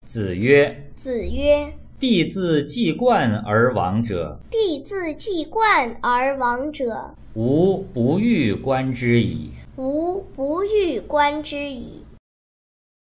子曰： 子曰： 弟自既冠而亡者， 弟自既冠而亡者， 吾不欲观之矣。 吾不欲观之矣。